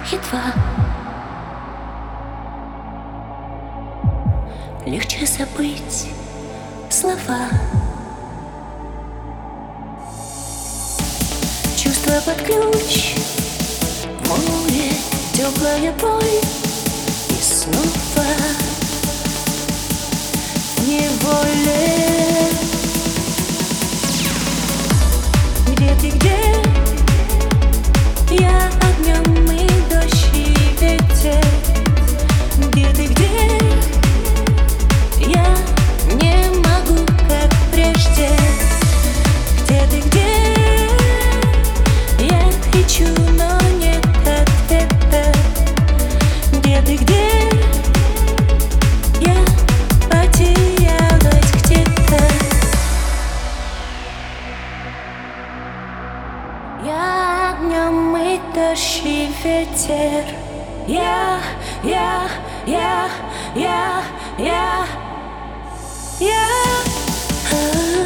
едва. Легче забыть слова. Чувства под ключ, море, теплая боль. И снова в неволе. Где ты, где? Я огнем и дождь и ветер. Где ты, где? Я не могу, как прежде. Где ты, где? Я кричу, но нет ответа. Где ты, где? Я потерялась где-то. Я огнем и дождь и ветер. Я я